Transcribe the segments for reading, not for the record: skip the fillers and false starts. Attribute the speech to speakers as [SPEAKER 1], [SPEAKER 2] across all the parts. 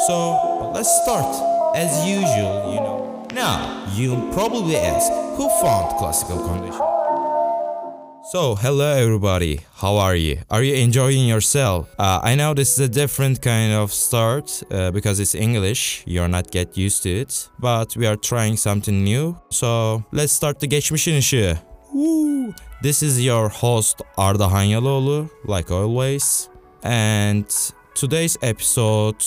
[SPEAKER 1] So let's start. As usual. Now, you probably ask, who found classical conditioning? So, hello everybody, how are you? Are you enjoying yourself? I know this is a different kind of start because it's English, you're not get used to it. But we are trying something new, so let's start the geçmişin ışığı. Woo! This is your host Arda Hanyaloğlu, like always. And today's episode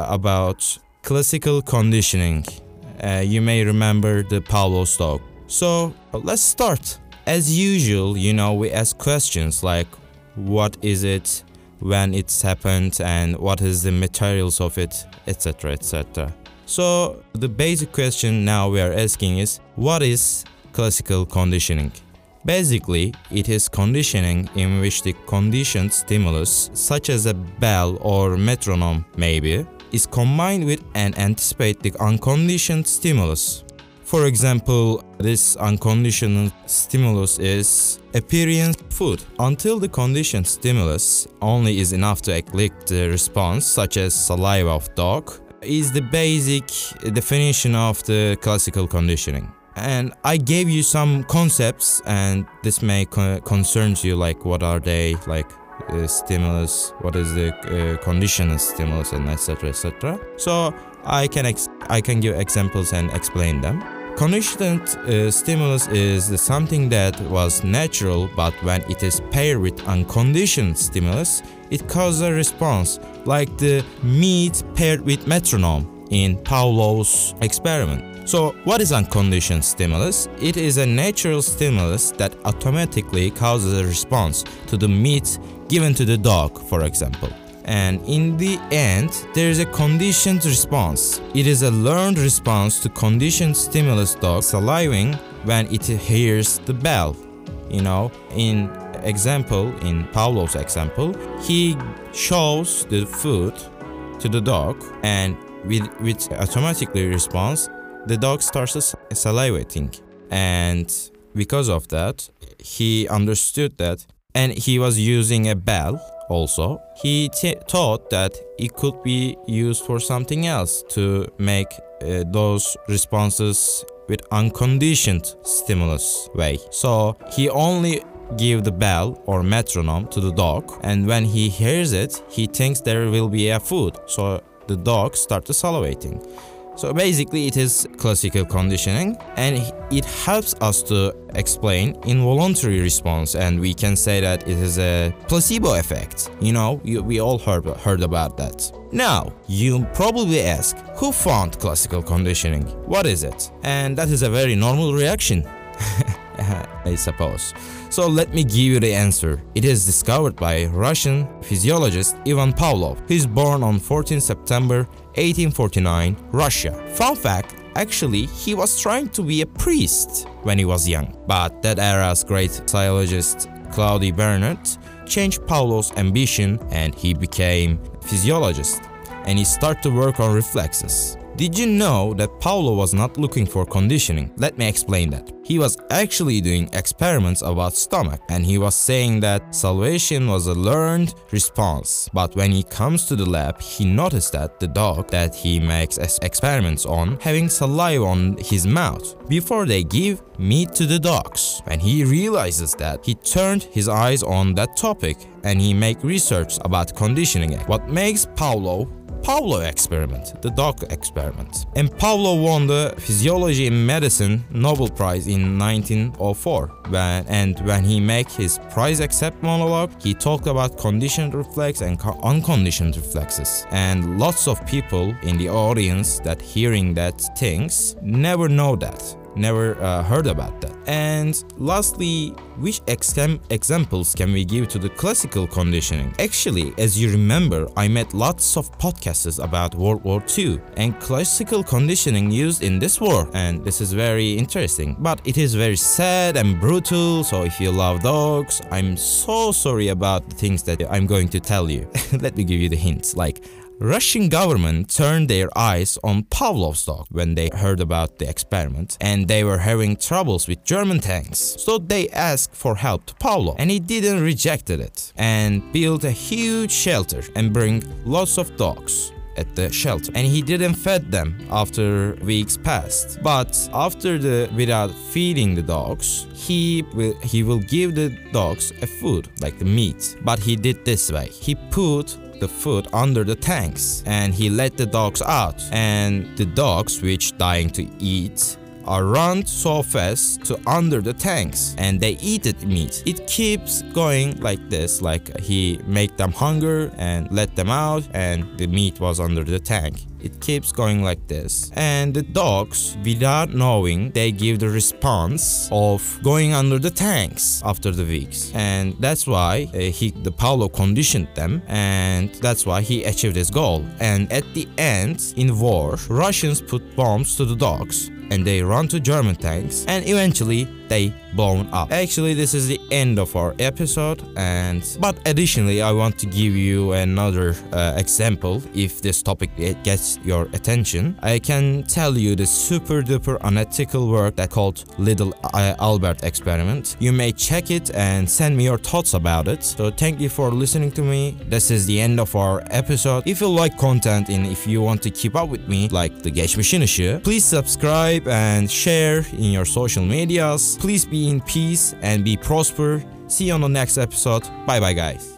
[SPEAKER 1] about classical conditioning. You may remember the Pavlov's dog. So, let's start. As usual, we ask questions like what is it, when it's happened, and what is the materials of it, etc., etc. So the basic question now we are asking is, what is classical conditioning? Basically, it is conditioning in which the conditioned stimulus, such as a bell or metronome maybe, is combined with an anticipate the unconditioned stimulus. For example, this unconditioned stimulus is appearance food. Until the conditioned stimulus only is enough to elicit the response, such as saliva of dog, is the basic definition of the classical conditioning. And I gave you some concepts, and this may concern you, like what are they, like stimulus, what is the conditioned stimulus, and etc., etc. So I can give examples and explain them. Conditioned stimulus is something that was natural, but when it is paired with unconditioned stimulus, it causes a response, like the meat paired with metronome in Pavlov's experiment. So, what is unconditioned stimulus? It is a natural stimulus that automatically causes a response to the meat given to the dog, for example. And in the end, there is a conditioned response. It is a learned response to conditioned stimulus dog salivating when it hears the bell. In Pavlov's example, he shows the food to the dog, and with automatically response, the dog starts salivating. And because of that, he understood that, and he was using a bell. Also, he thought that it could be used for something else to make those responses with unconditioned stimulus way. So he only give the bell or metronome to the dog, and when he hears it, he thinks there will be a food. So the dog starts salivating. So basically it is classical conditioning, and it helps us to explain involuntary response, and we can say that it is a placebo effect. We all heard about that. Now, you probably ask, who found classical conditioning? What is it? And that is a very normal reaction, I suppose. So let me give you the answer. It is discovered by Russian physiologist Ivan Pavlov. He is born on 14 September 1849, Russia. Fun fact, actually, he was trying to be a priest when he was young. But that era's great physiologist Claude Bernard changed Pavlov's ambition, and he became a physiologist. And he started to work on reflexes. Did you know that Pavlov was not looking for conditioning? Let me explain that. He was actually doing experiments about stomach, and he was saying that salivation was a learned response. But when he comes to the lab, he noticed that the dog that he makes experiments on having saliva on his mouth before they give meat to the dogs. When he realizes that, he turned his eyes on that topic, and he make research about conditioning. What makes Pavlov experiment, the dog experiment. And Pavlov won the Physiology in Medicine Nobel Prize in 1904. When he made his prize accept monologue, he talked about conditioned reflex and unconditioned reflexes. And lots of people in the audience that hearing that things never know that. Never heard about that. And lastly, which examples can we give to the classical conditioning? Actually, as you remember, I made lots of podcasts about World War II and classical conditioning used in this war, and this is very interesting. But it is very sad and brutal, so if you love dogs, I'm so sorry about the things that I'm going to tell you. Let me give you the hints, like Russian government turned their eyes on Pavlov's dog when they heard about the experiment, and they were having troubles with German tanks. So they asked for help to Pavlov, and he didn't reject it and built a huge shelter and bring lots of dogs. at the shelter, and he didn't fed them after weeks passed. But without feeding the dogs, he will give the dogs a food like the meat. But he did this way: he put the food under the tanks and he let the dogs out, and the dogs which dying to eat are run so fast to under the tanks and they eat it meat. It keeps going like this, like he make them hunger and let them out and the meat was under the tank. It keeps going like this, and the dogs, without knowing, they give the response of going under the tanks after the weeks, and that's why the Paulo conditioned them, and that's why he achieved his goal. And at the end, in war, Russians put bombs to the dogs and they run to German tanks and eventually they blown up. Actually, this is the end of our episode, but additionally I want to give you another example. If this topic gets your attention, I can tell you the super duper unethical work that called Little Albert experiment. You may check it and send me your thoughts about it. So thank you for listening to me. This is the end of our episode. If you like content and if you want to keep up with me like the Geçmişin Işığı, please subscribe and share in your social medias. Please be in peace and be prosper. See you on the next episode. Bye bye guys.